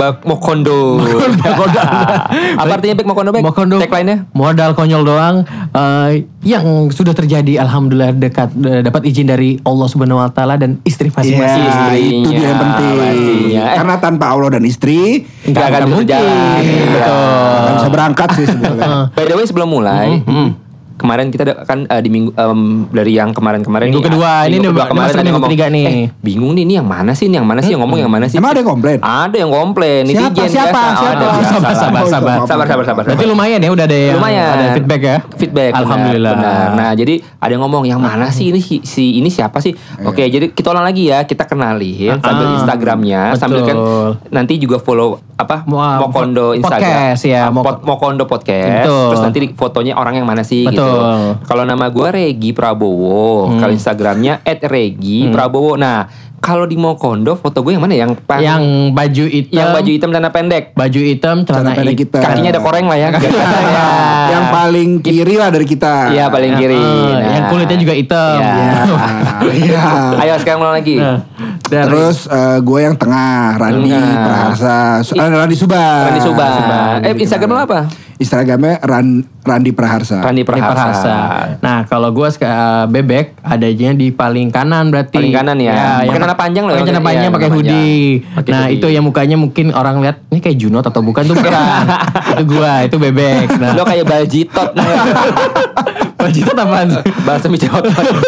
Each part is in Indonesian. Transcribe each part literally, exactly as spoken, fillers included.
Bak Mokondo. Mokondo. Apa artinya Bek Mokondo Bek? Mokondo. Tagline-nya? Modal konyol doang uh, yang sudah terjadi alhamdulillah dekat uh, dapat izin dari Allah Subhanahu wa taala dan istri masing-masing. Ya, Istrinya, itu dia yang penting. pastinya. Eh. Karena tanpa Allah dan istri Enggak akan mungkin. berjalan. Betul. nggak bisa berangkat sih sebetulnya. By the way sebelum mulai, kemarin kita ada- kan eh, di minggu em, dari yang kemarin-kemarin Minggu nih, kedua, ah, ini minggu udah kedua kemarin masuk ada yang minggu ngomong, ketiga nih. Eh, bingung nih, ini yang mana sih? Ini yang mana sih? Yang ngomong yang mana sih? Emang ada yang komplain? Ada yang komplain. Siapa? Netizen Siapa? biasa. Siapa? Ada, biasa Sabar, lah. sabar, Oh, sabar. maaf, Sabar, maaf, sabar, sabar. Berarti lumayan ya udah ada yang Lumayan. ada feedback ya. Feedback. benar, Alhamdulillah. Benar. Nah, jadi ada yang ngomong yang mana sih ini si, si ini siapa sih? Oke, jadi kita ulang lagi ya. Kita kenalin sambil Ah, Instagramnya, betul. sambil kan nanti juga follow apa? Mo- Mokondo Instagram. podcast ya, Ah, Mok- Pot- Mokondo podcast. Betul. Terus nanti fotonya orang yang mana sih gitu. Betul. Kalau nama gue Regi Prabowo, Hmm. kalau Instagramnya et regi prabowo. Nah, kalau di Mokondo foto gue yang mana? Yang pang- Yang baju hitam. yang baju hitam celana pendek. Baju hitam, celana Celana pendek hitam. kita. Kakinya ada koreng lah ya. Ya, yang paling kiri lah dari kita. Iya, paling kiri. Eh, Nah. Yang kulitnya juga hitam. Iya. Iya. Ayo sekarang mulai lagi. Nah, dari- Terus eh, gue yang tengah, Randi Tengah. Praharsa, Su- eh, Randi Subar. Randi Subar. Eh, Instagram lo apa? Instagramnya Ran, Randi Praharsa. Randi Ini Praharsa. Praharsa. Nah, kalau gue bebek adanya di paling kanan berarti. Paling kanan ya. Pakai yang celana panjang loh. Pakai celana Iya, panjang, pakai celana hoodie. panjang. Pakai Nah, hoodie. itu yang mukanya mungkin orang lihat ini kayak Junot atau bukan tuh bukan. Itu gua, itu bebek. Nah, Lo kayak baljitot. baju itu apaan? Bahasa Mijaot.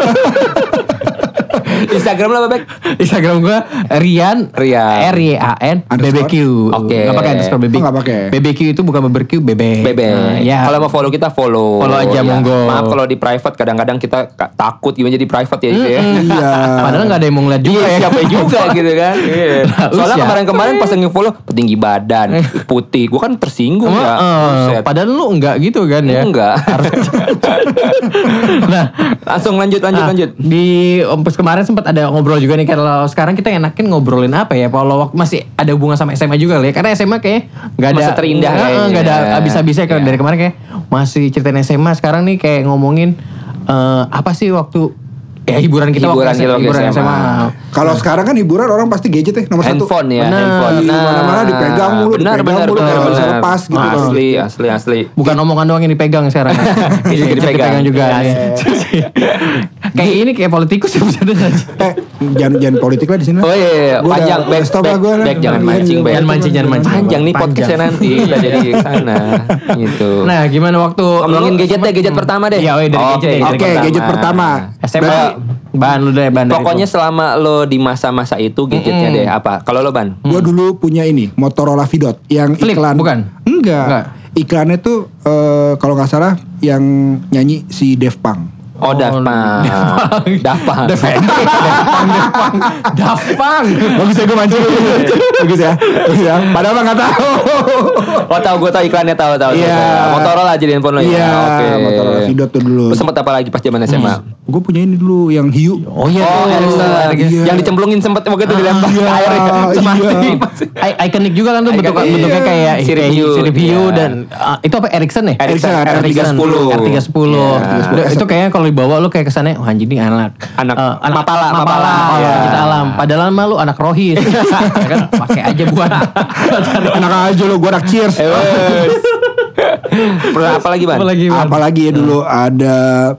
Instagram lo apa, Bek? Instagram gue Rian Rian. R Y A N B B Q. Oke. Nggak pakai underscore B B Q. Oh, nggak pakai. B B Q itu bukan barbecue, bebek. Bebek. Nah, ya. Kalau mau follow kita follow. Follow aja, Ya. monggo. Maaf kalau di private kadang-kadang kita ka- takut gimana jadi private ya. gitu ya. Iya. Padahal nggak ada yang mau ngeliat juga Iya, ya. siapa juga gitu kan. Iya. Soalnya Usia. kemarin-kemarin pas nge-follow petinggi badan, putih. Gue kan tersinggung Emang, ya. eh, Buset. padahal lu enggak gitu kan ya. Enggak. Nah, Langsung lanjut lanjut ah, lanjut. di Ompus kemarin sempat ada ngobrol juga nih. Kalau sekarang kita enakin ngobrolin apa ya? Kalau waktu masih ada hubungan sama S M A juga kali ya. Karena S M A kayak nggak ada Masa terindah nggak- kayaknya. nggak ada habis-habisnya. Kalau Iya. dari kemarin kayak masih ceritain S M A. Sekarang nih kayak ngomongin eh, apa sih waktu ya hiburan kita Hiburan waktu kita waktu hiburan S M A. Kalau sekarang kan hiburan orang pasti gadget ya nomor satu. Handphone ya, Benar. handphone. Di mana-mana dipegang mulu, benar, dipegang benar, mulu, benar, nggak bisa benar. lepas gitu. Asli, asli, asli. Bukan omongan doang yang dipegang sekarang. Ini juga Gadget dipegang. juga. Iya, nih. Kayak ini kayak politikus ya bisa dengar. Eh, jangan jangan politik lah di sini. Oh iya, iya. Gua panjang, udah- back, udah stop back, lah gua lah. back, jangan Iya, mancing, iya, back. Jangan mancing, jangan mancing. Panjang nih Panjang. podcastnya nanti, udah jadi ke sana, gitu. Nah, gimana waktu Ngomongin lu gadget deh, sempet- gadget pertama deh. Iya, oh, iya, dari Oke, gadget deh. Oke, gadget gadget pertama. S M A bahan lu deh, bahan dari Pokoknya itu. selama lo di masa-masa itu gadgetnya deh apa? Kalau lo Ban? Gue dulu punya ini Motorola Vidot yang Flip, iklan bukan? Enggak. Enggak. Iklannya tuh eh, kalau nggak salah yang nyanyi si Dave Punk. Oh, Daft Punk. Daft Punk. Daft Punk, Daft Punk, Daft Punk. Bagus ya gue mancing. Bagus ya. Bagus ya. Padahal mah nggak tahu. Oh tahu, gue tahu iklannya, tahu tahu. Iya. tahu. Motorola aja di handphone lo ya. Iya, Oke. Motorola Vidot tuh dulu. Lo sempet apa lagi pas zaman S M A? Gue punya ini dulu yang hiu. Oh iya, Oh, tuh. Ericsson. Iya. Yang dicemplungin sempet waktu itu dilempar ke iya, air ya. Semati. iya. I- ikonik juga kan tuh bentuk, Ikonik. bentuknya kayak Sirip kayak hiu. sirip hiu Iya. dan ah, itu apa Ericsson ya? Ericsson Ericsson, R tiga sepuluh. R tiga sepuluh. Iya. Itu kayaknya kalau dibawa lu kayak kesannya wah anjing ini anak Anak eh, Mapala, Mapala, Mapala. Mapala, Iya. kita alam. Padahal mah lu anak Rohis. Ya kan pakai aja buat Enak aja lo, gue anak cheers. Eh, wes. Pernah apa lagi Ban? Apalagi, Bang? Apalagi ya dulu ada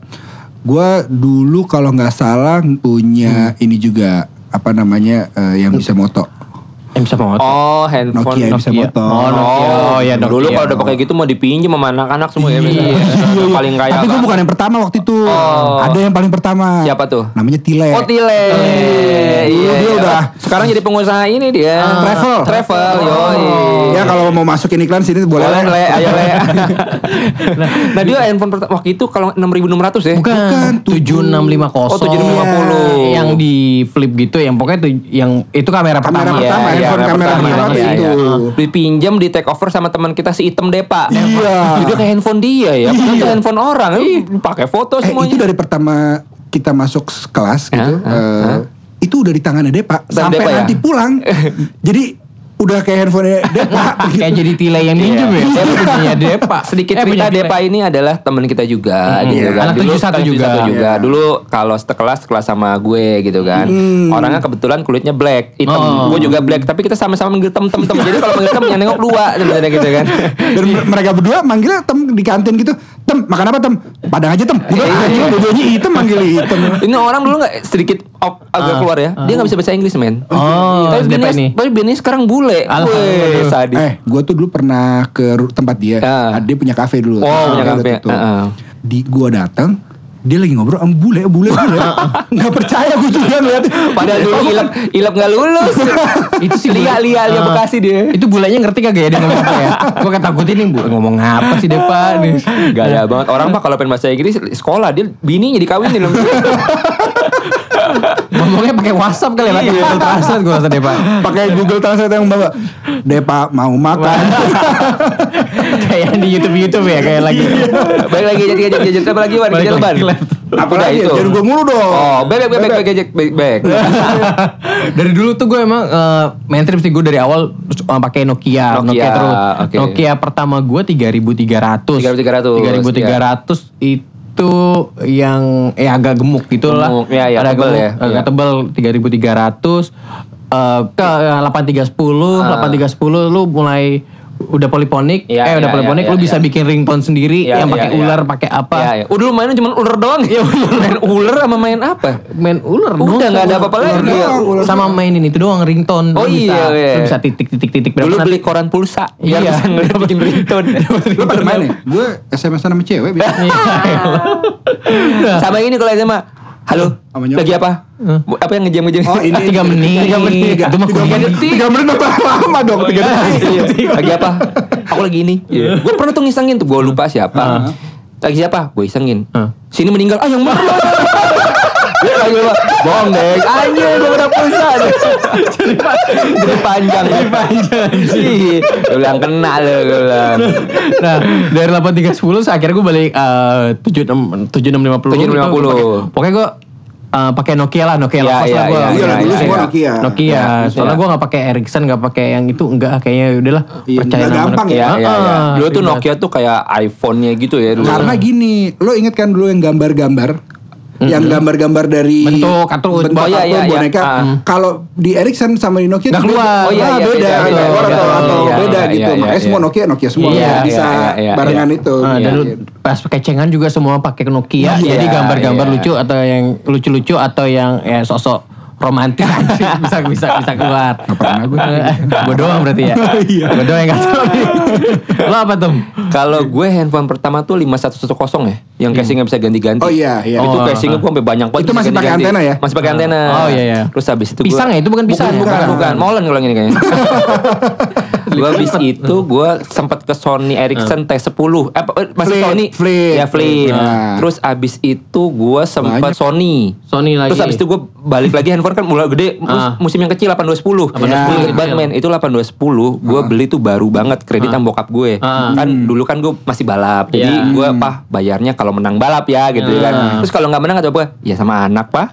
gue dulu kalau nggak salah punya ini juga apa namanya eh, yang bisa moto. Yang bisa motor. Oh, handphone Nokia yang bisa Nokia. moto. Oh, Nokia. Oh, ya, Nokia. Dulu kalau udah pakai gitu mau dipinjam sama anak-anak semua ya. Iya. biasanya. Paling kaya. Tapi gue kan. bukan yang pertama waktu itu. Oh. Ada yang paling pertama. Siapa tuh? Namanya Tile. Oh, Tile. Iya, dia iya. udah. Sekarang jadi pengusaha ini dia. Travel. Travel, yoi. Ya kalau mau masukin iklan sini boleh. Boleh, lah. le, ayo le. nah, dia handphone pertama waktu itu kalau enam ribu enam ratus ya. Bukan, tujuh enam lima nol. Oh, tujuh enam lima nol. Yang di flip gitu, yang pokoknya tuh yang itu kamera Kamera pertama. pertama, Iya, handphone iya, kamera pertama. pertama Iya, itu. iya. Dipinjam di take over sama teman kita si Item Depa. Iya. Itu kayak handphone dia ya. Padahal itu handphone orang. Eh, pakai foto Eh semuanya. itu dari pertama kita masuk kelas gitu. Hah? Hah? eh, itu udah di tangannya Depa Tangan sampai Depa ya? nanti pulang. Jadi udah kayak handphone Depa. Kayak jadi tile yang minjem ya. Saya punya Depa. Sedikit Eh, punya cerita tile. Depa ini adalah teman kita juga gitu Iya. kan. Anak tujuh puluh satu kan juga. tujuh puluh satu juga. Iya. Dulu kalau sekelas kelas sama gue gitu kan. Hmm. Orangnya kebetulan kulitnya black, hitam. Oh. Gue juga black, tapi kita sama-sama manggil tem-tem-tem. Jadi kalau manggil tem yang nengok dua sebenarnya gitu kan. Dan mereka berdua manggilnya tem di kantin gitu. Tem, makan apa tem? Padang aja tem. Udah anjing dua-duanya hitam manggil hitam. Ini orang dulu nggak sedikit op, agak Ah, keluar ya. Dia nggak bisa bahasa Inggris men. Oh, tapi Depa Bini, ini. tapi Bini sekarang bule. Alhamdulillah. Wih, sadis. Eh, gue tuh dulu pernah ke ru- tempat dia. Ah. Dia punya kafe dulu. Oh, punya Udah kafe. tutup. Ah, ah. Di gua datang, dia lagi ngobrol sama bule, bule, bule. Nggak percaya gue juga ngeliat. Padahal dulu ilap ilap nggak lulus. Itu sih Lia bule. Lia Lia Ah. Bekasi dia. Itu bulenya ngerti kagak ya dia ngomong apa ya? Gue ketakutin nih bu ngomong apa sih Depa nih. Gaya banget orang mah kalau pengen bahasa Inggris sekolah dia bininya dikawinin. Ngomongnya pakai WhatsApp kali ya, pakai Iya. Google Translate gue rasa Depa. Pakai Google Translate yang bawa. Depa mau makan. Kayak di YouTube YouTube ya kayak lagi. Baik lagi jadi gadget gadget apa lagi Wan? Balik Gadget lagi, ban. Lan. Apa Udah lagi? itu. Jangan gue mulu dong. Oh, baik baik baik baik gadget baik baik. Dari dulu tuh gue emang uh, main trip sih gue dari awal uh, pakai Nokia, Nokia, Nokia terus. oke. Nokia pertama gue tiga ribu tiga ratus. tiga ribu tiga ratus, tiga ribu tiga ratus itu yang eh agak gemuk gitu lah. Gemuk, ya, ya, Ada tebel gemuk, ya, agak ya. tebel tiga ribu tiga ratus. Uh, ke delapan tiga sepuluh, Ah. delapan tiga sepuluh lu mulai udah poliponik, Ya, eh udah ya, poliponik ya, lu ya, bisa ya. bikin ringtone sendiri Ya, yang ya, pakai ya. ular, pakai apa. Ya, ya. Udah dulu mainnya cuma ular doang. Ya, main ular sama main apa? Main ular Udah dong, nggak ada ular- apa-apa ular lagi ya. doang. Sama mainin itu doang ringtone. Oh Lu bisa, iya, iya. lu bisa titik-titik-titik Dulu beli koran pulsa biar Iya. bisa ngeliat bikin ringtone. Lu pada main ya? Gue S M S sama cewek biasa. Sama ini kalau S M A. Halo, Sama nyokap. lagi apa? Bu- Apa yang ngejam-ngejam? Oh ini Tiga menit. Tiga menit. Itu mah Tiga kuliah. menit. Tiga menit udah lama dong. Tiga menit. Iya. Lagi apa? Aku lagi ini. Gue pernah tuh ngisengin tuh, gue lupa siapa. Lagi siapa? Gue isengin. Ah. Sini meninggal. Ah yang mana? Dia lagi apa? Bohong deh. Anjir gue udah pulsa. Jadi panjang. Jadi panjang. Iya. Gue bilang kena lo. Gue bilang. Nah, dari delapan tiga sepuluh akhirnya gue balik eh, tujuh enam lima puluh. tujuh enam lima puluh. Pokoknya gue eh, pakai Nokia lah, Nokia Iya, lepas iya, lah gue. iya, Iya lah dulu iya, semua iya. Nokia. Nokia, Iya, soalnya iya. gue gak pakai Ericsson, gak pakai yang itu, enggak, kayaknya udahlah Iya, percaya nggak sama gampang Nokia. Iya, iya, iya. Ah, Dulu tuh ribet. Nokia tuh kayak iPhone-nya gitu ya dulu. Karena gini, lo inget kan dulu yang gambar-gambar, yang gambar-gambar dari Bentuk kartun. bentuk Oh, iya, kartun, iya, iya. boneka. Ah. Kalau di Ericsson sama di Nokia Nggak tuh beda. keluar. Oh, iya, Ah, iya, beda, beda, beda, beda, keluar beda. atau, atau Iya, beda iya, gitu. iya, Makanya iya. semua Nokia Nokia semua Iya, nggak iya, bisa iya, iya, barengan iya. itu. Ah, Iya, dan lu iya. pas kecengan juga semua pakai Nokia, Iya, jadi gambar-gambar iya. lucu atau yang lucu-lucu atau yang ya sosok romantis anjing, bisa bisa bisa keluar. Nggak pernah gue. Gue doang berarti ya. Iya. Gue doang yang gak tahu nih. Lo apa tuh? Kalau gue handphone pertama tuh lima satu satu nol ya, yang casingnya bisa ganti-ganti. Oh, iya, iya. Itu Oh, casingnya gue sampai banyak banget. Itu bisa masih pakai ganti-ganti. antena ya? Masih pakai antena. Oh, iya, iya. Terus habis itu Pisang gua, ya? Itu bukan pisang. Bukan, bukan, Bukan. bukan. Molen kalau ini kayaknya. Gue habis itu gue sempat ke Sony Ericsson T sepuluh. Eh, apa, eh, masih Flip, Sony. Flip. Ya Flip. Nah. Terus abis itu gue sempat Banyak. Sony. Sony lagi. Terus abis itu gue balik lagi handphone kan mulai gede. Mus- Ah. Musim yang kecil delapan dua sepuluh. delapan dua sepuluh Gue inget kecil. banget men. Itu delapan dua sepuluh. Gue beli tuh baru banget. Kredit sama bokap gue. Ah. Kan dulu kan gue masih balap. Jadi Iya. gue pah bayarnya kalau menang balap ya gitu Ah. kan. Terus kalau nggak menang kata gue, ya sama anak pak.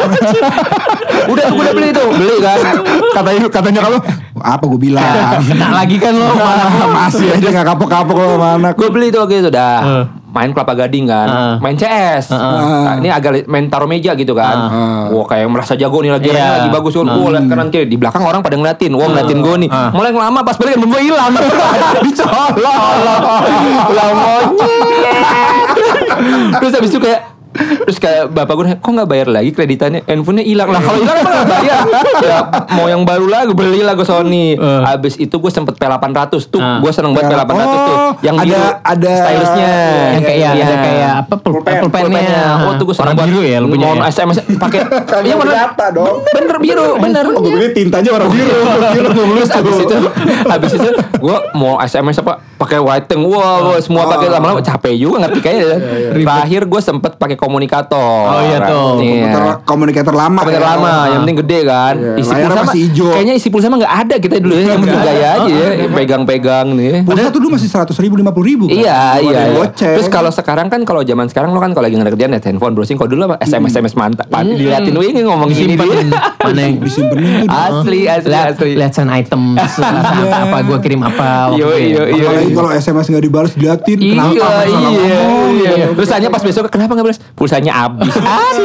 Udah gue udah beli tuh. Beli kan. Katanya katanya kalau apa gue bilang. Kena lagi kan lo. Masih aja nggak kapok-kapok lo sama anak. Gue beli tuh gitu dah. Uh. Main Kelapa Gading kan. Uh. Main C S. Uh. Nah, ini agak li- main taruh meja gitu kan. Uh. Wah kayak merasa jago nih lagi. Iya. Ini lagi bagus kan. Gue liat kanan kiri. Di belakang orang pada ngeliatin. Wah ngeliatin gue nih. Uh. Mulai lama pas balik gue hilang. Dicolok. Lah monyet. Terus habis itu kayak terus kayak bapak gue kok nggak bayar lagi kreditannya, handphonenya hilang lah. Kalau hilang emang nggak bayar. Ya, mau yang baru lah gue beli lah gue Sony. Uh. Abis itu gue sempet P delapan ratus tuh. Uh. Gue seneng banget P delapan ratus tuh. Oh, Yang ada- biru ada- stylusnya. Yang kayak Iya. ada kayak apa pul- Pulpen, pulpennya. Oh tuh gue seneng Warna banget. biru ya lu punya. Mau ya? S M S pakai. Iya bener. data dong. Bener biru, bener. Oh, gue beli tintanya warna biru. Biru Terus abis itu, abis itu gue mau S M S apa pakai whiting, wah, wow, semua pakai lama-lama capek juga ngerti kayaknya. Terakhir gue sempet pakai komunikator. Oh iya tuh. Komuter, komunikator lama. Komunikator ya. lama, yang penting gede kan. Iya, Isi layarnya pulsa masih mah- hijau. Kayaknya isi pulsa mah nggak ada kita dulu ya, yang penting gaya aja ya, pegang-pegang nih. Pulsa tuh dulu masih seratus ribu, lima puluh ribu. Iya, Kalau iya. ada iya. goceng. Terus kalau sekarang kan kalau zaman sekarang lo kan kalau lagi ngerjain net handphone browsing, kalau dulu apa S M S S M S mantap. Diliatin lu ini ngomong gini dia. Mana yang disimpenin tuh. Asli, asli, lihat asli. lihat send item apa gue kirim apa waktu Yo, itu ya. yo, iya. Apalagi kalau S M S nggak dibalas diliatin. Iya, Kenapa? Salah iya, ngomong, iya. gitu. Terus tanya pas besok kenapa nggak balas? Pulsanya habis. Asli.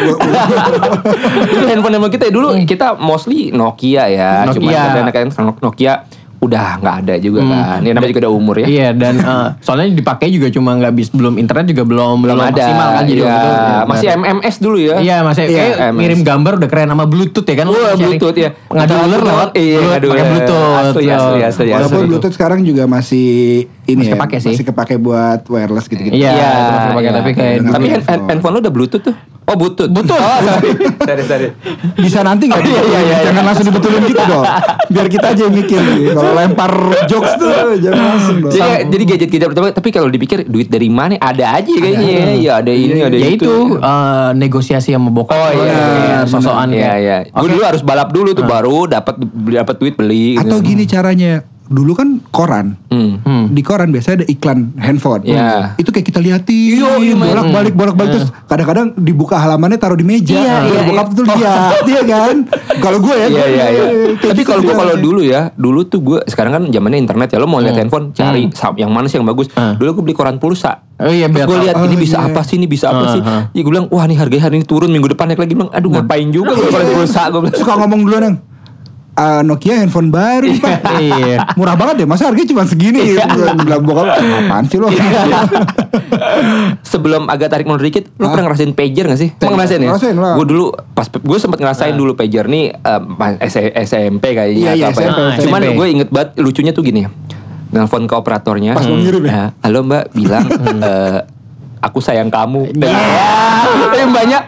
Dulu handphone handphone kita dulu kita mostly Nokia ya. Cuma Nokia. ada anak-anak Nokia udah nggak ada juga kan. Ini namanya juga udah umur ya. Iya dan eh, soalnya dipakai juga cuma nggak bis belum internet juga belum Belum ada. maksimal kan jadi Iya. waktu itu, ya, Masih benar. M M S dulu ya. Iya masih Iya, kayak M S. ngirim gambar udah keren sama Bluetooth ya kan. Wah, Sharing. Bluetooth ya. Ngadu ular lewat Iya, Bluetooth, ngadu pakai ular. Bluetooth. Asli, Tuh. asli, asli, asli. Walaupun Bluetooth sekarang juga masih ini Masih ya, kepake sih. masih kepake buat wireless gitu-gitu. Iya, Iya, terus dipakai, iya. tapi kayak Dengan Tapi hand- handphone. handphone lu udah Bluetooth tuh. Oh, Bluetooth. Bluetooth. Oh, sorry. sorry, sorry. Bisa nanti nggak? Oh, iya, iya, iya. Jangan langsung dibetulin gitu dong. Biar kita aja yang mikir. Kalau lempar jokes tuh jangan langsung dong. Jadi, jadi gadget-gadget pertama, tapi kalau dipikir duit dari mana? Ada aja kayaknya. Ya, ada ini, ada Ya itu. itu eh, negosiasi sama bokap. Oh lo, iya, kayak benar. sosokan Iya, kayak. iya. Gue dulu harus balap dulu tuh baru dapat dapat duit beli. Atau gini caranya. Dulu kan koran. Hmm. Hmm. Di koran biasanya ada iklan handphone. Iya. Itu kayak kita lihatin, bolak-balik, bolak-balik terus kadang-kadang dibuka halamannya taruh di meja. Iya, Biar iya, bokap tuh lihat, iya kan? Kalau gue ya, Iya gue- iya iya. kayak Tapi gitu kalau gue dia. kalau dulu ya, dulu tuh gue sekarang kan zamannya internet ya, lo mau lihat handphone cari sam- yang mana sih yang bagus. Hmm. Dulu gue beli koran pulsa. Oh iya, Terus biar gue tahu. lihat ini Oh, bisa iya. apa sih, ini bisa apa Ah, sih? ah. Ya gue bilang, wah nih harganya hari ini turun, minggu depan naik lagi. Bilang, aduh ngapain juga gue koran pulsa. Gue bilang, suka ngomong dulu neng. Ah, Nokia handphone baru nih, Pak. Iya. Murah banget ya, masa harganya cuma segini? Gue bilang bokap, apaan sih lo? sebelum agak tarik mundur dikit, lo pernah ngerasain pager gak sih? Pernah ngerasain ya? Ngerasain lah. Gue dulu pas gue sempat ngerasain dulu pager nih eh, pas S M P kayaknya Iya, iya, atau apa ya. S M P. Cuman S M P. gue inget banget lucunya tuh gini. Nelfon ke operatornya. Pas mau ngirim ya? Nah, halo Mbak, bilang eh, aku sayang kamu. Ya, yang banyak.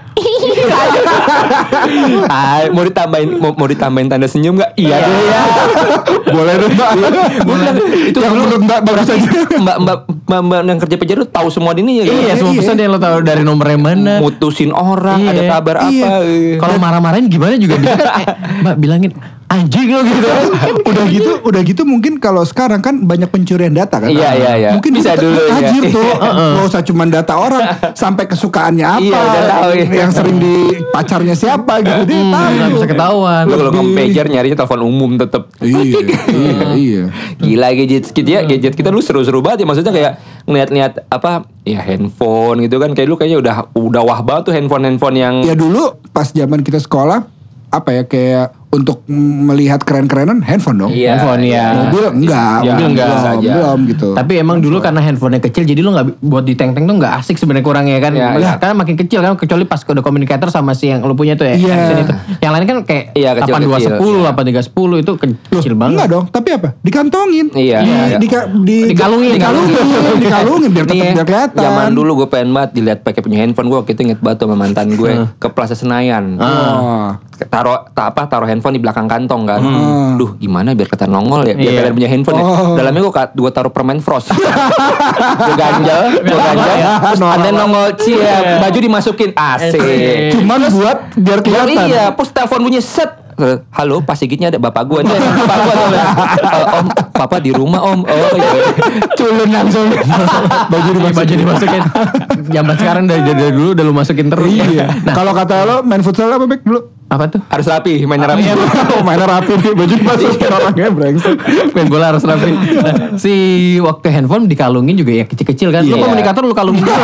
Ah, mau ditambahin mau, mau ditambahin tanda senyum nggak? Iya deh ya. Boleh dong, Mbak. Gue bilang, itu Yang dulu menurut Mbak bagus aja. mbak, mbak mbak mbak yang kerja pager tuh tahu semua ini ya. Iya, semua Iya. pesan yang lo tahu dari nomornya mana. Mutusin orang, Iya. ada kabar Iya. apa. Kalau marah-marahin gimana juga bisa kan, eh, Mbak bilangin anjing lo gitu. Udah gitu, udah gitu mungkin kalau sekarang kan banyak pencurian data kan. Iya, iya, iya. Mungkin Bisa kita dulu, ya. tajir tuh. Nggak usah cuma data orang, sampai kesukaannya apa, Iya, udah tahu, iya. yang sering di pacarnya siapa gitu dia tahu. Nggak bisa ketahuan. Lu kalau Lebih- ngomong pager nyarinya telepon umum tetep. Iya, iya, iya. Gila gadget kita ya, gadget kita lu seru-seru banget ya, maksudnya kayak ngeliat-ngeliat apa ya handphone gitu kan, kayak lu kayaknya udah udah wah banget tuh handphone-handphone yang Ya dulu pas zaman kita sekolah apa ya kayak untuk melihat keren-kerenan handphone dong. Iya, Handphone, iya. ya. Mobil enggak, Ya, mobil enggak belum, saja. belum gitu. Tapi emang dulu karena handphonenya kecil jadi lo nggak buat diteng-teng tuh nggak asik sebenarnya kurangnya kan. Iya, iya. Karena makin kecil kan kecuali pas kode communicator sama si yang lo punya tuh ya. Iya. Action itu. Yang lain kan kayak Iya, kecil-kecil. delapan dua sepuluh, Iya. delapan tiga sepuluh itu kecil banget. Enggak dong, tapi apa? Dikantongin. Iya, Di, iya. di, di, Dikalungin. dikalungin, dikalungin biar tetap Nih, biar kelihatan. zaman dulu gue pengen banget dilihat pakai punya handphone gue, waktu itu inget banget sama mantan gue ke Plaza Senayan. Oh. Taruh ta, apa taruh handphone di belakang kantong kan. Hmm. Duh, gimana biar kata nongol ya, biar Iya. kalian punya handphone ya. Oh. Dalamnya gue gue taruh permen frost. Gue ganjel, gue ganjel. Terus ada nongol cia, baju dimasukin A C. Cuman buat biar Oh, kelihatan. iya, terus telepon bunyi set. Halo, pas Sigitnya ada bapak gue nih. Bapak gue tuh. "Eh, Om, papa di rumah Om. Oh iya. Culun langsung. baju dimasukin. Baju dimasukin. Zaman sekarang dari, dari dulu udah lu masukin terus. Iya. Kalau kata lo main futsal apa Bek dulu? Apa tuh? Harus rapi, mainnya rapi. Oh, mainnya rapi nih, baju dimasukin orangnya brengsek. Main bola harus rapi. Nah, si waktu handphone dikalungin juga ya kecil-kecil kan. Lu Iya. komunikator lu kalungin juga.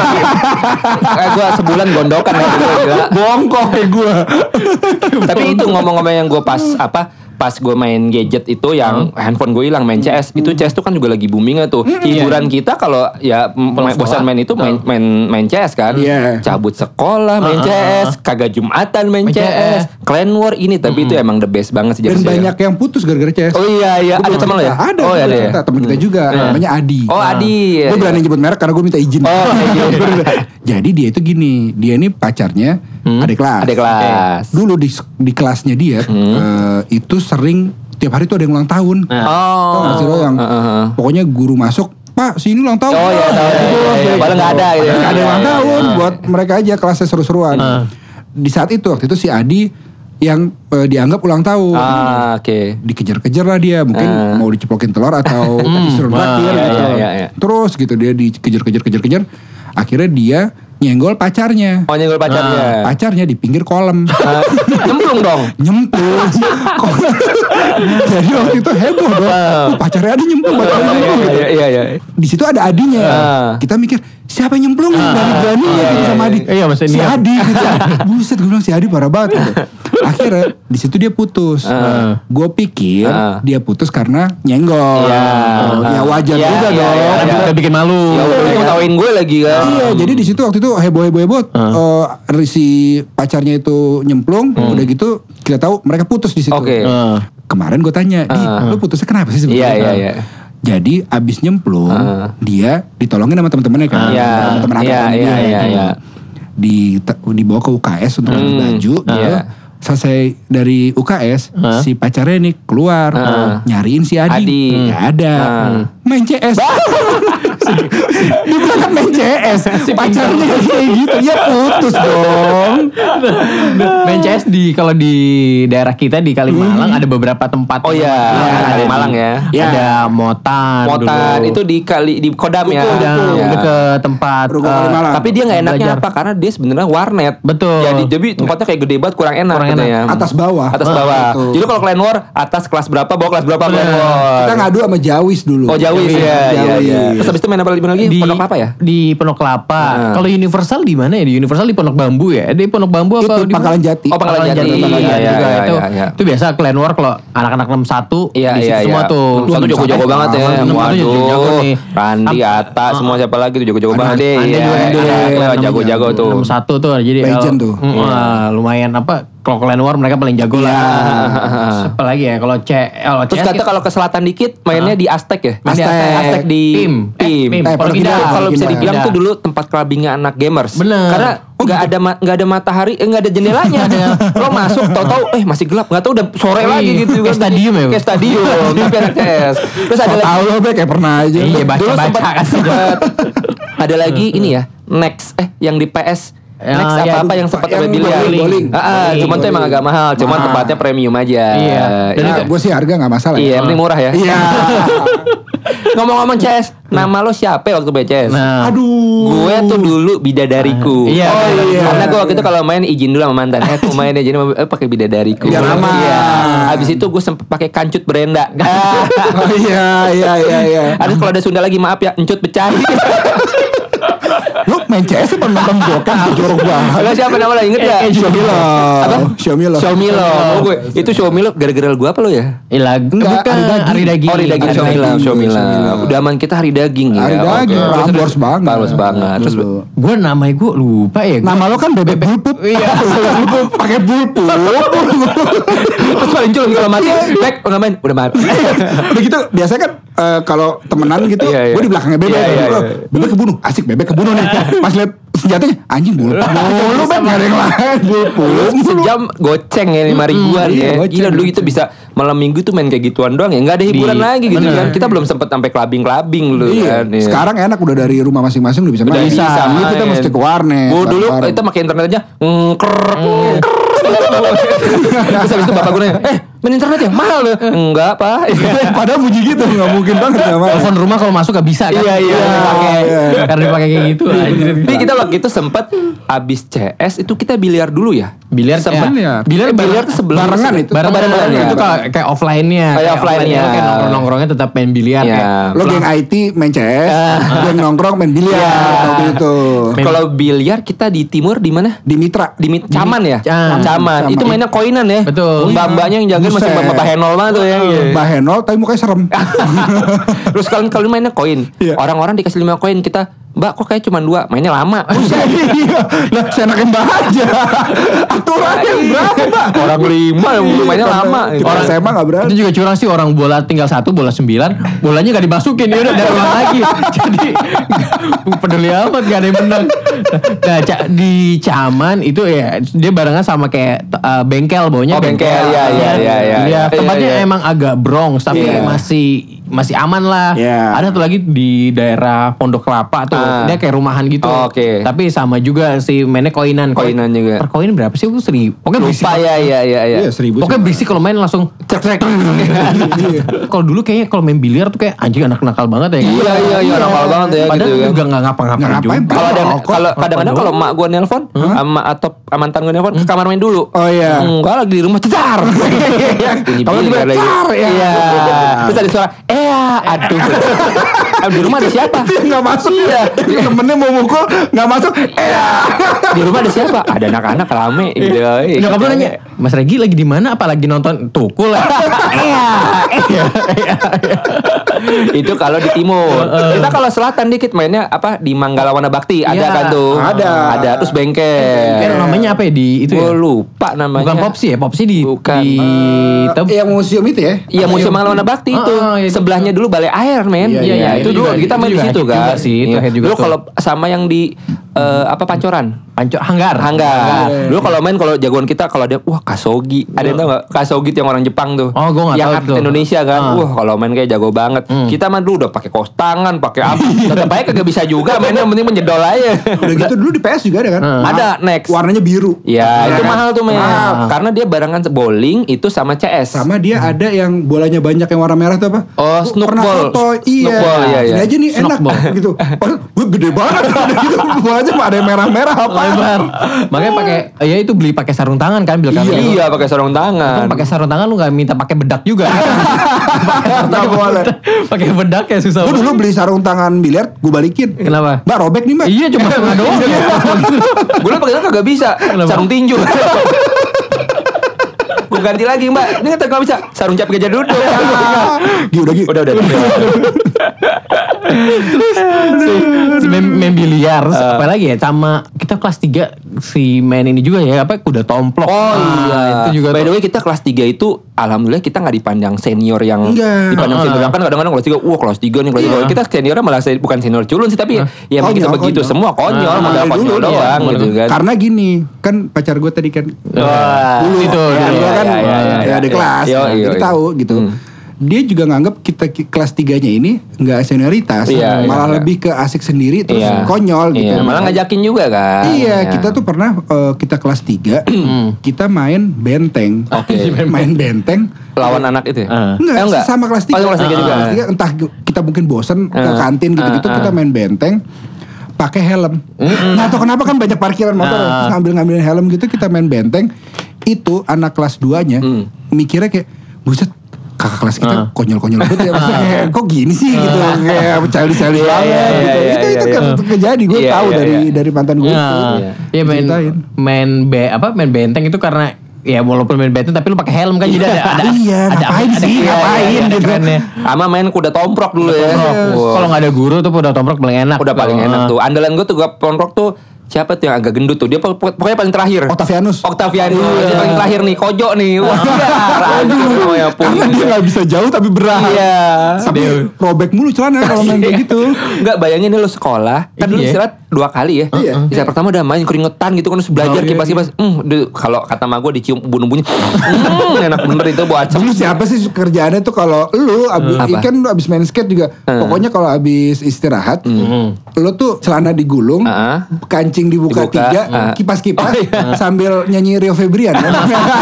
Eh, gue sebulan gondokan ya. Gila. Bongkok kayak gue. Tapi itu ngomong-ngomong yang gue pas apa pas gue main gadget itu yang handphone gue hilang main C S, itu C S tuh kan juga lagi boomingnya tuh. Hiburan kita kalau ya m- Pulang bosan sekolah. main itu main main main C S kan. Iya. Cabut sekolah main C S, kagak Jumatan main Main C C S, S. Clan War ini, tapi itu emang the best banget sih Dan jersey. banyak yang putus gara-gara C S. Oh iya iya, Gua ada belum teman lo ya? cerita. Ada, Oh gua ada ya. cerita. Teman kita juga, namanya Adi. Oh Adi. Gue berani nyebut merek karena gue minta izin. Oh, iya. Jadi dia itu gini, dia ini pacarnya adik kelas. Ada kelas. Dulu di di kelasnya dia eh, itu sering tiap hari tuh ada yang ulang tahun. Nah. Tau gak sih lo yang Heeh. pokoknya guru masuk, Pak sini ulang tahun. Oh iya, tahu, iya, iya, iya. Padahal nggak ada gitu. Nggak ada yang ulang Iya, iya, tahun iya. buat mereka aja kelasnya seru-seruan. Uh. Di saat itu waktu itu si Adi yang eh, dianggap ulang tahun. Ah, oke. Dikejar-kejar lah dia, mungkin Ah. mau diceplokin telur atau disuruh Wah, traktir iya, gitu. iya, iya, iya. Terus gitu dia dikejar-kejar-kejar-kejar. Akhirnya dia nyenggol pacarnya. Oh nyenggol pacarnya. Pacarnya di pinggir kolam. Ah, nyemplung dong. Nyemplung. Jadi waktu itu heboh dong. Oh, pacarnya Adi nyemplung, pacarnya nyemplung gitu. Iya, iya, iya. Di situ ada Adinya. Ah. Kita mikir siapa yang nyemplung nih dari beraninya gitu sama Adi. Iya, maksudnya si dia. Adi gitu. Buset gue bilang si Adi parah banget gitu. Akhirnya di situ dia putus. Ah. Gue pikir Ah. dia putus karena nyenggol. Iya. Ya wajar Iya, juga iya, dong. iya, Karena iya. udah bikin malu. Ya udah ngetawain gue lagi kan. Iya, jadi di situ waktu itu heboh-heboh-heboh. Eh, si pacarnya itu nyemplung, udah gitu kita tahu mereka putus di situ. Oke. Uh. Kemarin gue tanya, Di, Ah. lu putusnya kenapa sih Iya, sebenarnya? iya, iya. Jadi abis nyemplung, Ah. dia ditolongin sama teman-temannya kan, Iya, teman-teman iya, angkatannya. iya, iya, iya. Di dibawa ke U K S untuk ganti Hmm, baju. Gitu. iya. Selesai dari U K S, Ah. si pacarnya nih keluar Ah. nyariin si Adi, Adi. nggak ada, Ah. main C S. Dia berangkat main C S, pacarnya kayak gitu, ya putus dong. Main C S di kalau di daerah kita di Kalimalang ada beberapa tempat. Oh iya, Iya, ada di Malang ya. Ya. Ada Motan. Motan dulu. itu di kali di Kodam ya. Udah, Iya. udah ke tempat. Ruko eh, Kalimalang. Tapi dia nggak enaknya Belajar. apa? Karena dia sebenarnya warnet. Betul. Jadi jadi tempatnya kayak gede banget, kurang enak Kurang katanya. enak. Atas bawah. Atas Ah, bawah. betul. Jadi kalau Clan War atas kelas berapa, bawah kelas berapa Clan War. Kita ngadu sama Jawis dulu. Oh Jawis ya, iya, Jawis. iya. Terus habis itu main apa lagi? Main lagi? di Pondok apa ya? Di Pondok Kelapa. Nah. Kalau Universal di mana ya? Di Universal di Pondok Bambu ya? Di Pondok Bambu apa? Itu di Pangkalan Jati. Oh, Pangkalan Jati. Pangkalan Iya, Jati iya, juga iya, itu. iya, iya. Itu biasa Clan War kalau anak-anak enam satu Iya, di situ iya, semua iya. tuh. Satu jago-jago banget ya. enam satu Waduh. jago-jago nih. Randi, Am- Ata, semua siapa lagi tuh jago-jago Ada- banget deh. Anda Iya, juga iya, ada. iya, Namanya jago-jago tuh. enam satu tuh. Jadi Legend kalau- tuh. Mm, wah, lumayan apa? Kalau Clan War mereka paling jago Iya. lah. Apa lagi ya? Kalau C kalau Terus C S kata kita- kalau ke selatan dikit mainnya di Aztec ya? Main di Aztec. Aztec. Aztec di Pim. Eh, Pim. Pim. Eh, Pondok Pondok Indah. Indah. Kalau bisa Indah. dibilang Indah. tuh dulu tempat clubbingnya anak gamers. Bener. Karena nggak ada ma- nggak ada matahari, eh nggak ada jendelanya. Lo masuk tahu-tahu eh masih gelap, nggak tahu udah sore Wih, lagi gitu kayak stadium ya, Bu? Kayak stadium, tapi anak C S. Terus ada So lagi tau lo Be, kayak pernah aja. Iya, dulu baca-baca sempat kan. sempat ada lagi ini ya, Next eh yang di P S. Ya, Next ya, apa-apa yang sempat yang ada biliar. bowling, bowling. Ah, ah, Bowling, cuman tuh emang bowling. agak mahal, cuman Mahal. tempatnya premium aja. Iya. Dan Iya. Nah, gue sih harga gak masalah. Iya, ya. yang penting murah ya. Iya. Ngomong-ngomong C S, nama lo siapa ya waktu main C S? Nah. Aduh. Gue tuh dulu bidadariku. Iya. Oh, iya. Karena gue waktu itu kalau main izin dulu sama mantan. Eh, aku main aja jadi eh, pakai bidadariku. Biar aman. Iya. Habis itu gue sempet pakai kancut Brenda. Ah. Oh iya iya iya iya. Ada kalau ada Sunda lagi maaf ya, encut pecah. Lu main C S apa nonton bokep jorok banget. Lo siapa nama lo inget ya? Eh, eh, Xiaomi lo. Apa? Xiaomi lo. Xiaomi lo. Oh, gue itu Xiaomi lo gara-gara gue apa lo ya? Ilag Enggak, bukan hari daging. hari daging. Oh, hari daging Hari Xiaomi lo, daging, Xiaomi lo. Xiaomi lo. Udah aman kita hari daging ya. Hari daging, Oke. Prambors banget. Prambors banget. Terus Dulu. Gue namanya gue lupa ya. Gua- Nama lo kan bebek bulpup. Iya. Pakai bulpup. terus paling cuy kalau mati, back udah main, udah mati. Udah gitu biasanya kan eh, kalau temenan gitu, Iya, iya. gue di belakangnya bebek. Iya, iya, Oh, iya. Bebek kebunuh, asik bebek kebunuh nih. Pas lihat senjatanya, anjing bulpup. Lu bebek nggak ada yang lain bulpup. Sejam goceng ya lima ribuan iya, ya. goceng, Gila dulu goceng. itu bisa malam minggu tuh main kayak gituan doang ya. Nggak ada hiburan Di- lagi gitu bener. kan. Kita belum sempet sampai clubbing-clubbing dulu Iya. kan. Iya. Sekarang enak udah dari rumah masing-masing udah bisa Udah main. bisa Dulu kita main. mesti ke warnet. Gua dulu bareng. kita pakai internet aja ngker Terus habis itu bapak gue nanya, eh main internet ya mahal loh. Enggak pak. Padahal bunyi gitu nggak mungkin banget nggak mau. Telepon rumah kalau masuk gak bisa kan? Iya, iya. Karena dipakai, Iya. karena dipakai kayak gitu. anjir. Tapi kita waktu itu sempet abis C S itu kita biliar dulu ya. Biliar Sempet ya. Biliar. Biliar biliar tuh sebelum Barengan itu. Bareng bareng bareng ya. itu kayak kayak offline-nya. Kayak offline-nya. Kayak nongkrong-nongkrongnya tetap main biliar Iya. kayak. Lo geng I T main C S, geng nongkrong main biliar Iya. waktu itu. Kalau biliar kita di timur di mana? Di Mitra. Di Mit- Caman ya? Caman. Caman. Caman. Itu mainnya koinan ya? Betul. Mbak-mbaknya yang jagain masih Buset. mbak-mbak henol banget tuh ya. Mbak Henol tapi mukanya serem. Terus kalau kalau mainnya koin, Iya. orang-orang dikasih lima koin kita Mbak kok kayak cuma dua, mainnya lama. Iya. Lah saya enakin Mbak aja. Aturannya berapa? Orang lima mainnya lama. Gitu. Orang S M A gak berani. Itu juga curang sih, orang bola tinggal satu, bola sembilan, bolanya gak dimasukin, ya udah dari ulang lagi. Jadi peduli amat, gak ada yang menang. Nah, ca- di Caman itu ya dia barengan sama kayak uh, bengkel, baunya Oh, bengkel, iya, iya, iya, iya. Ya, tempatnya Iya, iya. emang agak Bronx, tapi Iya. masih masih aman lah. Iya. Ada tuh lagi di daerah Pondok Kelapa tuh, Ah. dia kayak rumahan gitu. Oh, oke. Tapi sama juga si mainnya koinan. Koinan juga. Per koin berapa sih? Gue seribu. Pokoknya berisik. Lupa ya, iya, iya, iya. Iya seribu. Pokoknya berisik kalau main langsung cek cek. Kalau dulu kayaknya kalau main biliar tuh kayak anjing anak nakal banget ya. Iya, iya, iya, nakal banget ya Padahal gitu kan. juga nggak ngapa-ngapain Nggak ngapain, juga. Kalau ada Rokok. kalau kadang-kadang kalau mak gue nelpon sama atau mantan gue nelpon ke kamar main dulu. Oh iya. Enggak lagi di rumah cecar. Bunyi Kalau biliar tiba-tiba lagi. car, ya. Iya. Terus ada suara, "Eh, aduh." Ah, di rumah ada siapa? Dia gak masuk. Iya. Dia temennya mau mukul gak masuk. Eh. Di rumah ada siapa? Ada anak-anak rame gitu. Eh, Nyokap lu gitu. nanya, Mas Regi lagi di mana? Apa lagi nonton Tukul? Iya. Itu kalau di timur. Kita kalau selatan dikit mainnya apa di Manggala Wana Bakti ada Iya, kan tuh. ada. Ada terus bengkel. Kayak namanya apa ya di itu Gue ya? lupa namanya. Bukan Popsi ya? Popsi di Bukan. di tem- Yang museum itu ya? Iya museum Manggala Wana Bakti itu. Ah, iya, itu. Sebelahnya dulu Balai Air men. Iya, iya, itu itu dulu juga- kita itu main di juga situ hit kan. juga sih, itu Iya. hit juga Dulu tuh. kalau sama yang di eh, apa Pancoran. Pancor Hanggar. Hanggar. Iya. Dulu kalau main kalau jagoan kita kalau dia wah Kasogi. Ada yang tahu enggak? Kasogi yang orang Jepang tuh. Oh, gua nggak Yang tahu atlet tuh. Indonesia kan. Ah. Wah, kalau main kayak jago banget. Kita mah dulu udah pakai kos tangan, pakai apa. Tetap aja kagak bisa juga mainnya yang penting menjedol aja. Udah gitu dulu di P S juga ada kan? Hmm. Ada next. Warnanya biru. Ya, itu kan? mahal tuh men. Mahal. Karena dia barengan bowling itu sama C S. Sama dia ada yang bolanya banyak yang warna merah tuh apa? Oh, Gua snook pernah ball. foto, iya. Snook ball, iya, iya. Ini aja nih Snook enak ball. gitu. Oh, gue gede banget gitu. Bolanya mah ada yang merah-merah apa? Lebar. Makanya pakai ya itu beli pakai sarung tangan kan bil kami. Iya, pakai sarung tangan. Kan pakai sarung tangan lu nggak minta pakai bedak juga. Nggak boleh. Pakai bedak ya susah. Gue dulu beli sarung tangan biliar, gue balikin. Kenapa? Mbak robek nih mbak. Iya cuma setengah doang. Gue pakai kagak bisa. Kenapa? Sarung tinju. Gue ganti lagi mbak. Ini kan gak bisa. Sarung cap gajah duduk. Gi udah Gi. Udah udah. Si main, main biliar terus apa lagi ya sama kita kelas tiga si main ini juga ya apa kuda tomplok. Oh iya. Itu juga By tuh. the way kita kelas tiga itu alhamdulillah kita gak dipandang senior yang Enggak. dipandang senior kan kadang-kadang kelas tiga wah kelas tiga nih kelas tiga. Kita seniornya malah se- bukan senior culun sih tapi ya emang kita Konyol, begitu konyol. semua konyol Ah, modal dari konyol dulu, doang iya. gitu kan. Karena gini, kan pacar gue tadi kan Wah, dulu itu, ya, dulu. dia kan Iya, iya, iya, ya, di iya. kelas, Iya, nah, iya, jadi iya. tahu gitu. Hmm. Dia juga nganggap kita ki- kelas tiganya ini nggak senioritas, Iya, malah iya. lebih ke asik sendiri terus Iya. konyol gitu. Iya, malah ngajakin juga kan. Iya, kita tuh pernah eh, kita kelas tiga, kita main benteng. Oke. Main benteng. Lawan anak itu ya? Ah. Enggak, Eh, enggak? sama kelas tiga. Oh, kelas tiga juga. Kelas tiga, entah kita mungkin bosen ke Ah. kantin gitu-gitu, Ah, kita ah. main benteng pakai helm. Nah, atau kenapa kan banyak parkiran motor, Ah. terus ngambil-ngambilin helm gitu, kita main benteng. Itu anak kelas dua-nya Hmm. mikirnya kayak, buset, kakak kelas kita Ah. konyol-konyol banget ya. Maksudnya kayak, kok gini sih gitu. Kayak childish-childish Iya, banget iya, gitu. iya, Itu iya, itu iya. kan kejadi, gue Iya, tahu iya, dari iya. dari mantan gue. Iya, iya main Ceritain. main be, apa main benteng itu karena ya walaupun main benteng tapi lu pakai helm kan jadi ada ada Iya, ada ngapain ada- sih? ada- Ngapain ada gitu. kerennya. Sama main kuda tomprok dulu ya. Tomprok. Wah. Kalau nggak ada guru tuh udah tomprok paling enak. Udah paling tuh. enak tuh. Andalan gue tuh gue tomprok tuh siapa tuh yang agak gendut tuh? Dia pok- pok- pokoknya paling terakhir. Octavianus. Octavianus. Dia paling terakhir nih. Kojo nih. Wah, aduh, ya pun. Karena dia nggak bisa jauh tapi berat. Iya. Tapi robek mulu celana kalau main kayak gitu. Enggak bayangin nih lu sekolah. Kan dulu Iya. istirahat dua kali ya. Iya. Istirahat pertama udah main keringetan gitu kan terus belajar Oh, iya, kipas-kipas. Hmm, duh, kalau kata ma gue dicium ubun-ubunnya. Hmm, enak bener itu buat Dulu siapa sih kerjaannya tuh kalau lu abis, Apa? kan lu abis main skate juga. Pokoknya kalau abis istirahat, lu tuh celana digulung, Ah. kancing dibuka, Dibuka, tiga, ah. kipas-kipas Oh, iya. sambil nyanyi Rio Febrian. kan?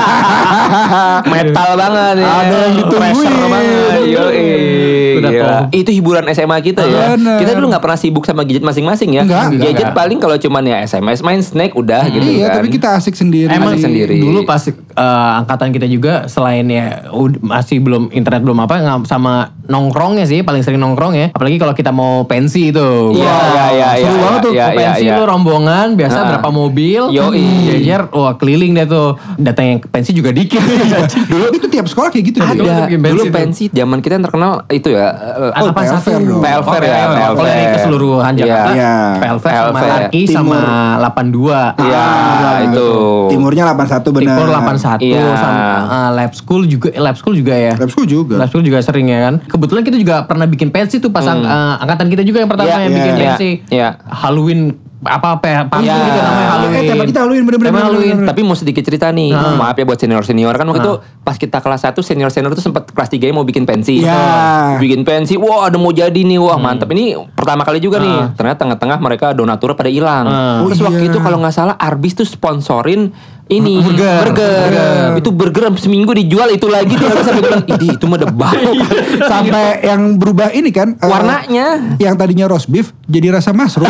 metal banget ya. Ada yang ditungguin. Pressure banget. Yoi. Udah Gila. top. Itu hiburan S M A kita ya. Bener. Kita dulu gak pernah sibuk sama gadget masing-masing ya. Enggak, enggak, Gadget enggak. paling kalau cuman ya S M S main Snake udah gitu Iya, kan. tapi kita asik sendiri. Emang Asik sendiri. dulu pas eh, angkatan kita juga selain ya ud- masih belum internet belum apa nggak sama nongkrongnya sih, paling sering nongkrong ya. Apalagi kalau kita mau pensi itu. Iya, iya, iya, Seru iya, banget tuh. iya, Mau iya, pensi iya. lu rombongan, biasa Nah. berapa mobil. Yoi. Jejer, wah keliling deh tuh. Datang yang ke pensi juga dikit. Dulu itu tiap sekolah kayak gitu. Ada. Dulu. Ada bikin pensi dulu tuh. pensi zaman kita yang terkenal itu ya. eh, Ada Oh, apa P L satu? Fair dong. P L Fair Oh, ya, P L P L Kalau ini Fair. keseluruhan Jakarta. Iya. P L Fair P L sama Fair. Larki sama Timur. delapan dua. Iya, itu. Timurnya delapan satu benar. Timur delapan satu Iya. sama uh, lab school juga eh, lab school juga ya. Lab school juga. Lab school juga sering ya kan. Kebetulan kita juga pernah bikin pensi tuh pasang uh, angkatan kita juga yang pertama Iya, yang iya, bikin iya, pensi. iya. Halloween apa apa ya? Panggung Iya. gitu namanya Halloween. Eh, tema kita Halloween, bener-bener, Tema bener-bener. Halloween. Tapi mau sedikit cerita nih, maaf ya buat senior-senior kan waktu itu pas kita kelas satu senior-senior itu sempat kelas tiga mau bikin pensi. Iya. Bikin pensi, wah ada mau jadi nih, wah mantap. Ini pertama kali juga nih. Ternyata tengah-tengah mereka donatur pada hilang. Ah. Terus Oh, waktu iya. itu kalau nggak salah Arbis tuh sponsorin ini Burger. burger. Itu burger seminggu dijual itu lagi tuh Arbis sampai bilang, "Ih, itu mah debak." Sampai yang berubah ini kan eh, Warnanya. yang tadinya roast beef jadi rasa mushroom.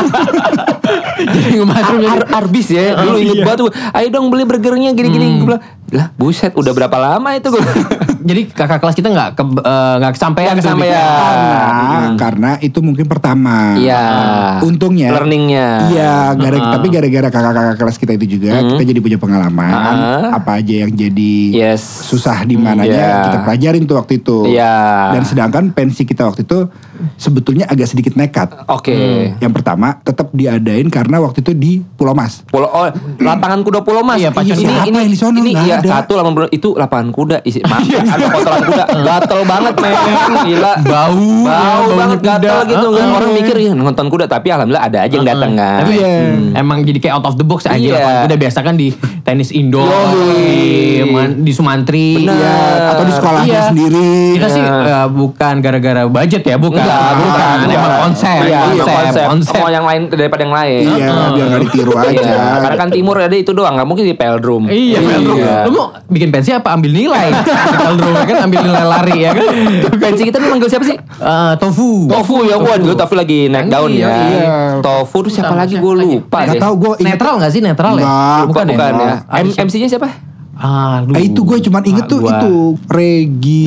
Jadi ngemasuk Ar- Ar- Arbis ya, dulu inget banget tuh. Ayo dong beli burgernya gini-gini. Gue bilang, lah buset, udah berapa lama itu gue. Jadi kakak kelas kita nggak ke, eh, nggak kesampaian. Nggak tuh bikin. kesampaian. karena karena itu mungkin pertama. Iya. Untungnya. Learningnya. Iya, gara tapi gara-gara kakak-kakak kelas kita itu juga kita jadi punya pengalaman Ah. apa aja yang jadi Yes. susah di mananya Iya. kita pelajarin tuh waktu itu. Iya. Dan sedangkan pensi kita waktu itu sebetulnya agak sedikit nekat. Oke. Yang pertama tetap diadain karena waktu itu di Pulau Mas. Pulau oh, lapangan kuda Pulau Mas. Iya, Pacuan. ini Siapa ini yang di sono? ini Nggak iya ada. satu delapan puluh itu lapangan kuda isi maaf ya, ada kotoran kuda. Gatel banget men. Gila. Bau, Bau ya, banget kuda. gatel gitu kan. Ah, Orang ah. mikir ya nonton kuda tapi alhamdulillah ada aja yang datang kan. Tapi Iya. emang jadi kayak out of the box aja. Iya. Lapangan kuda biasa kan di tenis indoor, Yoi. di, Man- di Sumantri. Benar. Iya, atau di sekolahnya Iya. sendiri. Kita sih eh, bukan gara-gara budget ya, bukan. Enggak, bukan. Emang konsep, Iya, konsep, konsep. konsep. Mau yang lain daripada yang lain. Iya, biar gak ditiru aja. Iya, karena kan timur ada itu doang, nggak mungkin di Peldrum. Iya, Peldrum. Iya. Lu mau bikin pensi apa? Ambil nilai. Di Peldrum kan ambil nilai lari ya kan. Pensi kita nih manggil siapa sih? Eh, tofu. Tofu ya, gua dulu Tofu lagi naik daun Iya, ya. iya. Tofu tuh siapa lagi gue lupa Gak deh. tau gue Netral gak sih? Netral ya? Enggak. Bukan, bukan ya? ya. Ah, M- siapa? M C-nya siapa? Ah, aduh. Eh, itu gue cuman inget Ah, tuh gua. itu Regi.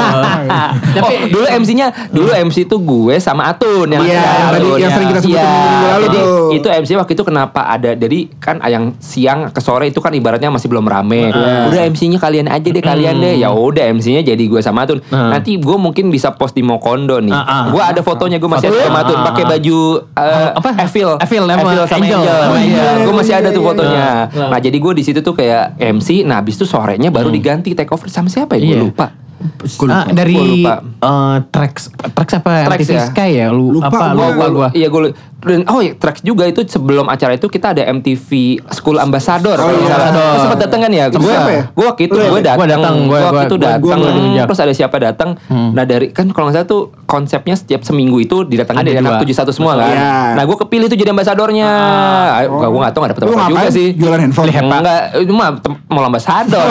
Tapi oh, dulu M C-nya, dulu M C itu gue sama Atun yang Iya, yang tadi Atun, yang ya. sering kita sebutin Iya, minggu lalu jadi tuh. itu M C waktu itu kenapa ada, jadi kan yang siang ke sore itu kan ibaratnya masih belum rame. Iya. Udah M C-nya kalian aja deh, kalian deh. Ya udah M C-nya jadi gue sama Atun. Nanti gue mungkin bisa post di Mokondo nih. Ah, ah. Gue ada fotonya, gue masih Foto- ada sama Atun ah, pakai ah. baju eh, Apa? Evil, Evil sama sama Angel. Angel. Oh, iya. Gue masih ada tuh Iya, fotonya. iya. Nah jadi gue di situ tuh kayak M C. Nah habis itu sorenya baru diganti take over sama siapa ya? Gue Iya. lupa. Gua lupa. Ah, dari Gua lupa. eh, Trax Trax apa Trax M T V ya? Sky ya? Lu Lupa apa? gua. Lupa gua. Iya gue dan oh ya Trax juga itu sebelum acara itu kita ada M T V School Ambassador. Oh, kalau iya. nggak salah. Ambassador. Lu sempat datang kan ya? Sama Gue siapa ya? gue waktu itu Lu ya? gue datang. Gua datang, gua- Gue waktu gua- itu gua- datang. gua nggak Terus ada siapa datang? Nah dari kan kalau nggak salah tuh konsepnya setiap seminggu itu didatangin Ada dari anak dua. tujuh satu semua kan. Iya. Nah gue kepilih tuh jadi ambasadornya. Ah, gue gue nggak tahu nggak dapet Lu apa juga ngapain? sih. Jualan handphone? Enggak, itu mah tem- mau ambasador.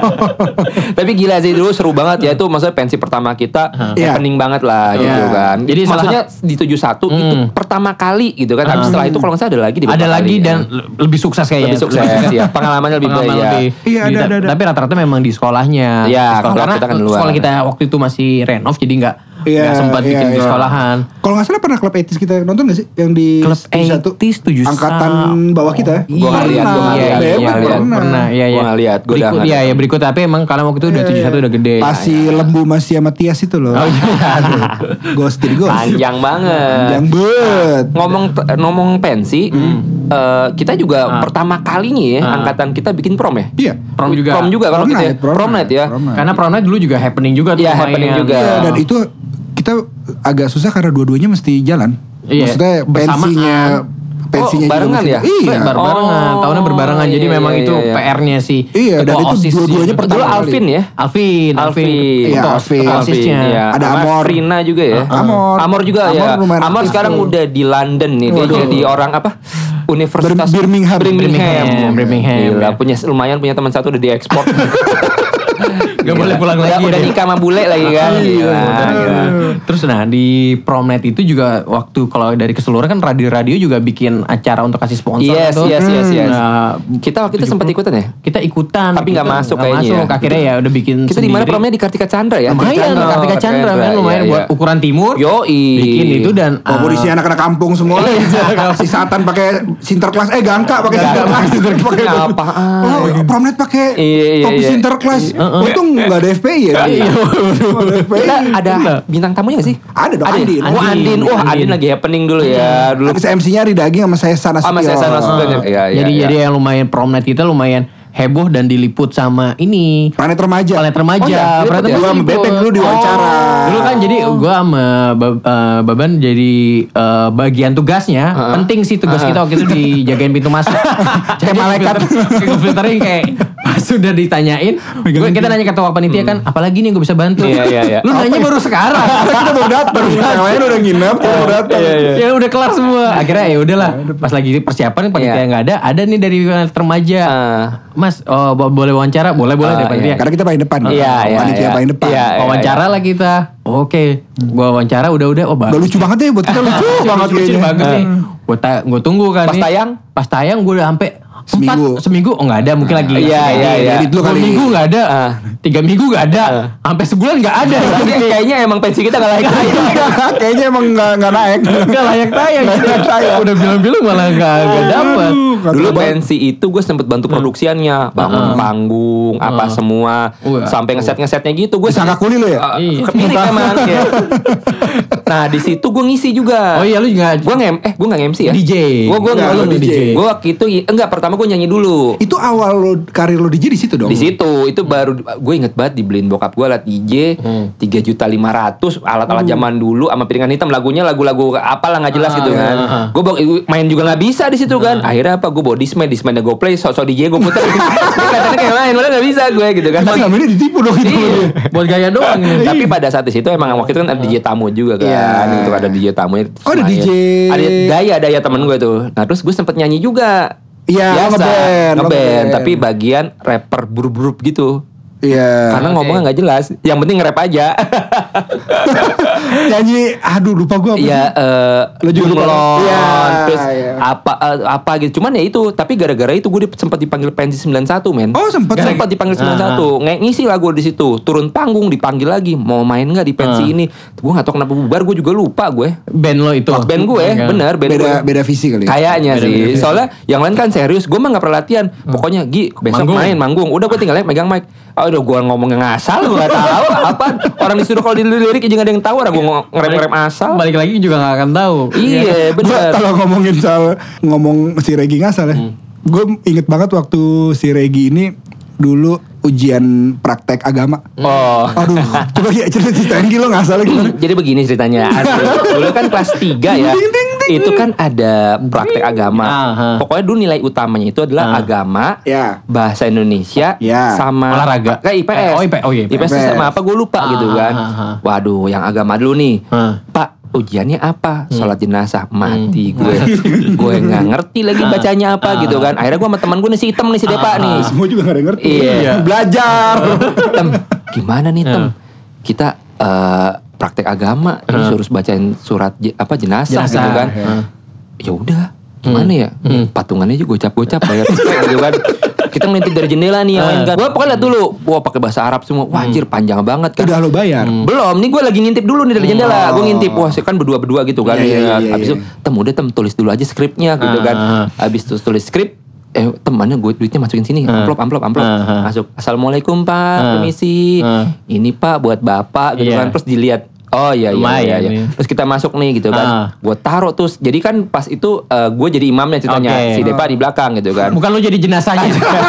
Tapi gila sih dulu seru banget ya itu maksudnya pensi pertama kita Iya. happening banget lah gitu Iya. kan. Jadi Jadi salah maksudnya di tujuh puluh satu itu Hmm. pertama kali gitu kan. Habis setelah itu kalau nggak salah ada lagi di Ada beberapa lagi kali, dan ya. le- lebih sukses kayaknya. Lebih sukses, ya. Pengalamannya lebih Pengalaman banyak. lebih. Iya, ada, Di- ada, ada. Tapi rata-rata memang di sekolahnya. Iya, Di sekolah. kalau Karena kita kan di luar. sekolah kita waktu itu masih renov jadi nggak Iya, nggak sempat iya, bikin di iya. sekolahan. Kalau nggak salah pernah klub etis kita nonton gak sih? Yang di Klub tujuh puluh satu? etis tujuh puluh satu. Angkatan bawah kita ya? Gua nggak lihat, gua nggak Iya, lihat, iya, gua iya, nggak lihat. pernah, iya, iya. Gua nggak lihat, gua udah Berikut, nggak iya, lihat. ya berikut tapi emang karena waktu itu udah tujuh puluh satu udah gede. Masih lembu masih sama Tias itu loh. Oh iya. Ghostin ghost. Panjang banget. Panjang bet. Ngomong ngomong pensi, eh, kita juga Ah. pertama kalinya ya Ah. angkatan kita bikin prom ya. Iya. Prom juga. Prom juga kalau Prom kita ya. night, prom Prom night ya. Prom night. Karena prom night dulu juga happening juga tuh. Iya, lumayan. happening juga. Iya, dan itu kita agak susah karena dua-duanya mesti jalan. Iya, Maksudnya bersamaan. pensinya pensinya Oh, juga barengan mesti- ya? Iya. Berbarengan, Oh, tahunnya berbarengan. Jadi iya, memang iya, itu iya. P R-nya sih. Iya, dan Ketua itu OSIS dua-duanya sih. pertama Dulu kali. Alvin ya. Alvin, Alvin. Alvin. Iya, Ketua- Alvin. ketua OSIS-nya. Iya. Ada Sama Amor. Frina juga ya. Amor. Amor juga Amor ya. lumayan Amor aktif sekarang tuh. udah di London nih. Dia Waduh. jadi orang apa? Universitas Bir- Birmingham. Birmingham. Birmingham, Birmingham. Gila, punya lumayan punya teman satu udah diekspor. Gak boleh pulang Udah- lagi. Udah dia. nikah sama bule lagi kan. Gila, gila. Terus nah di Promnet itu juga waktu kalau dari keseluruhan kan radio-radio juga bikin acara untuk kasih sponsor Yes, gitu. yes, yes, yes. Nah, Kita waktu itu sempat ikutan ya? kita ikutan. Tapi nggak gitu. masuk Nggak kayaknya masuk. ya. Akhirnya ya udah bikin Kita di mana sendiri. promnya di Kartika Chandra ya? Lumayan, Oh, Kartika Chandra kan lumayan iya, buat iya. ukuran timur. Yoi. Bikin itu dan Oh, ah, isi anak-anak kampung semua. Si Satan pakai Sinterklas, eh Gangka pakai Sinterklas. Pakai Apaan? Oh, Promnet pakai Iya, iya, topi iya. Sinterklas. Untung nggak ada F P I ya. Nggak ada F P I. Kita ada bintang tamunya nggak sih? Ada dong, Ada ya? Andin. Oh Andin. Wah Andin. Andin lagi happening dulu ya. Dulu Habis M C-nya Ri Daging sama saya Sana sama saya sana Nasution. Iya, iya. jadi iya. jadi yang lumayan Promnet kita lumayan heboh dan diliput sama ini Planet Remaja. Planet Remaja. Oh, iya, Planet diliput ya? Gua sama diliput. Bebek dulu diwawancara. Dulu kan jadi gua sama Bab- eh, Baban jadi eh, bagian tugasnya penting sih tugas kita waktu itu dijagain pintu masuk. Kayak malaikat. Filtering kayak pas sudah ditanyain, gua kita nanya ketua panitia kan, apalagi nih gue bisa bantu. Iya, iya, iya. Lu nanya baru sekarang. Kita baru datang. Yang lain udah nginep, kita baru datang. Ya udah kelar semua. Akhirnya ya udahlah. Pas lagi persiapan panitia Iya. nggak ada, ada nih dari Planet Remaja. Ah. Mas, oh, bo- boleh wawancara? Boleh, boleh Ah, deh panitia. iya. Karena kita paling depan. Iya, iya, Panitia iya. paling depan. Iya, iya. Wawancara lah kita. Oke, gua wawancara udah-udah. Oh, Udah lucu banget ya buat kita lucu banget lucu kayaknya. banget nih. Gua ta- gua tunggu kan Pas nih. tayang? Pas tayang gua udah sampai Seminggu. empat seminggu. Oh nggak ada, mungkin lagi. Iya, iya, iya. Edit dulu Dua kali. minggu nggak ada. Ah. Tiga minggu nggak ada. Sampai sebulan nggak ada. Tapi kayaknya emang pensi kita nggak layak tayang. Kayaknya emang nggak nggak naik. Nggak layak tayang. Udah bilang-bilang malah nggak nggak dapet. Aduh, Dulu kata Bang. pensi itu gue sempet bantu produksiannya, bangun panggung, apa semua, Wah. sampai ngeset-ngesetnya gitu. Gue Disangka kuli lo ya? Iya. Kepirik emang. Ya. Nah di situ gue ngisi juga. Oh iya, lu juga Gue ngem, eh gue nggak M C ya. D J. Gue gue Enggak, nggak lu D J. Gue waktu itu enggak pertama gue nyanyi dulu. Itu awal lo karir lo D J di situ dong. Di situ itu baru gue inget banget dibeliin bokap gue alat D J tiga juta lima ratus alat-alat zaman dulu sama piringan hitam lagunya lagu-lagu apalah nggak jelas Ah, gitu iya, kan. ah. Gue main juga nggak bisa di situ kan. Akhirnya apa gue bawa Discman, Discmannya gue play, sok-sok D J gue puter. Kelihatannya kayak main, malah nggak bisa gue gitu kan. Kita selama ini ditipu dong itu. Iya. buat gaya doang ini. Tapi pada saat di situ emang waktu itu kan ada D J tamu juga kan. Iya. Gitu ada D J tamunya. Oh, ada D J. Ada Daya Daya temen gue tuh. Nah terus gue sempet nyanyi juga. Iya, Biasa, ngeband, lo ngeband, ngeband. tapi bagian rapper buru-buru gitu. Iya. Karena Oke. ngomongnya nggak jelas. Yang penting nge-rap aja. Nyanyi, aduh lupa gue apa Iya, sih? eh Lo juga lupa. Bunglon, Iya, terus iya. apa eh, apa gitu. Cuman ya itu, tapi gara-gara itu gue sempat dipanggil pensi sembilan satu men. Oh, sempet. Sempat dipanggil sembilan satu. Nge- ngisi lagu di situ. Turun panggung dipanggil lagi, mau main nggak di pensi Ah. ini. Gue nggak tahu kenapa bubar, gue juga lupa gue. Band lo itu. Band gue, Iya. bener band Beda gue. beda visi kali. ya? Kayaknya Beda-beda sih. visi. Soalnya yang lain kan serius. Gue mah gak pernah latihan. Pokoknya Gi besok Manggung. main manggung. Udah gue tinggal megang mic. Oh, udah gue ngomongnya ngasal. Gue gak tahu apa. Orang disuruh kalau dilirik aja gak ada yang tahu. Orang gue ngerem-ngerem asal. Balik lagi juga gak akan tahu. Iya Gua bener. kalau ngomongin soal ngomong si Regi ngasal ya. Gue inget banget waktu si Regi ini dulu ujian praktek agama. Oh. Aduh, coba ya cerita ceritain Gi, lo ngasal gimana? Jadi begini ceritanya. Dulu kan kelas tiga ya. Itu kan ada praktek agama. Aha. Pokoknya dulu nilai utamanya itu adalah Ah. agama, Ya. bahasa Indonesia, Ya. sama Olahraga. Kayak I P S. Oh, I P- oh iya, I P S. I P S sama apa gue lupa Ah, gitu kan. ah, ah, ah. Waduh, yang agama dulu nih. Ah. Pak, ujiannya apa? Hmm. Sholat jenazah. Mati gue. Gue nggak ngerti lagi bacanya apa gitu kan. Akhirnya gue sama teman gue nih si Item nih si Depa nih. Semua juga gak ada yang ngerti. Iya. Belajar. Tem, gimana nih Tem? Kita eh, praktek agama, ini suruh bacain surat je- apa jenazah, Jenazah, gitu kan. ya. Ya udah, gimana ya? Patungannya juga gocap-gocap bayar cepet gitu kan. Kita ngintip dari jendela nih yang lain kan. Gue pokoknya liat dulu, wah pakai bahasa Arab semua. Wah anjir panjang banget kan. Udah lo bayar. Belum, nih gue lagi ngintip dulu nih dari jendela. Gue ngintip, wah sih kan berdua-berdua gitu kan. Iya, iya, iya, Habis iya. itu, Tem udah Tem tulis dulu aja skripnya gitu Ah, kan. ah. Habis itu tulis skrip, eh temannya gue duitnya masukin sini, Ah. amplop amplop amplop. Ah, ah. Masuk, assalamualaikum Pak, Ah. permisi. Ah. Ini Pak buat Bapak gitu Iya. kan. Terus dilihat, oh iya iya, Lumayan iya, iya. nih. Terus kita masuk nih gitu Ah. kan. Gue taruh terus. Jadi kan pas itu eh, gue jadi imamnya ceritanya. Oke. Si Depa di belakang gitu kan. Bukan lo jadi jenazahnya.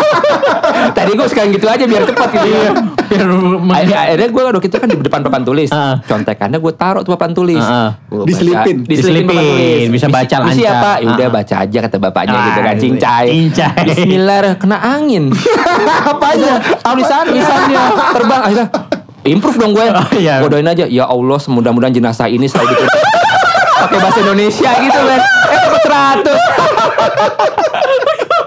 Tadi gue sekarang gitu aja biar cepat gitu. Iya. Biar Akhirnya, akhirnya gue waktu itu kan di depan papan tulis. Ah. Contekannya gue taruh tuh papan tulis. Ah, ah. Gua Diselipin. baca- Diselipin papan Diselipin. tulis. Bisa baca Misi- misi lancar. apa? Ya udah Ah. baca aja kata bapaknya Ah, gitu kan. iya. Cincai. Cincai. Bismillah kena angin. Apanya? Tulisan tulisannya terbang akhirnya. Improve dong gue. Oh, iya. Gue doain aja. Ya Allah semudah-mudahan jenazah ini selalu gitu. Pakai bahasa Indonesia gitu kan. Eh dapat seratus.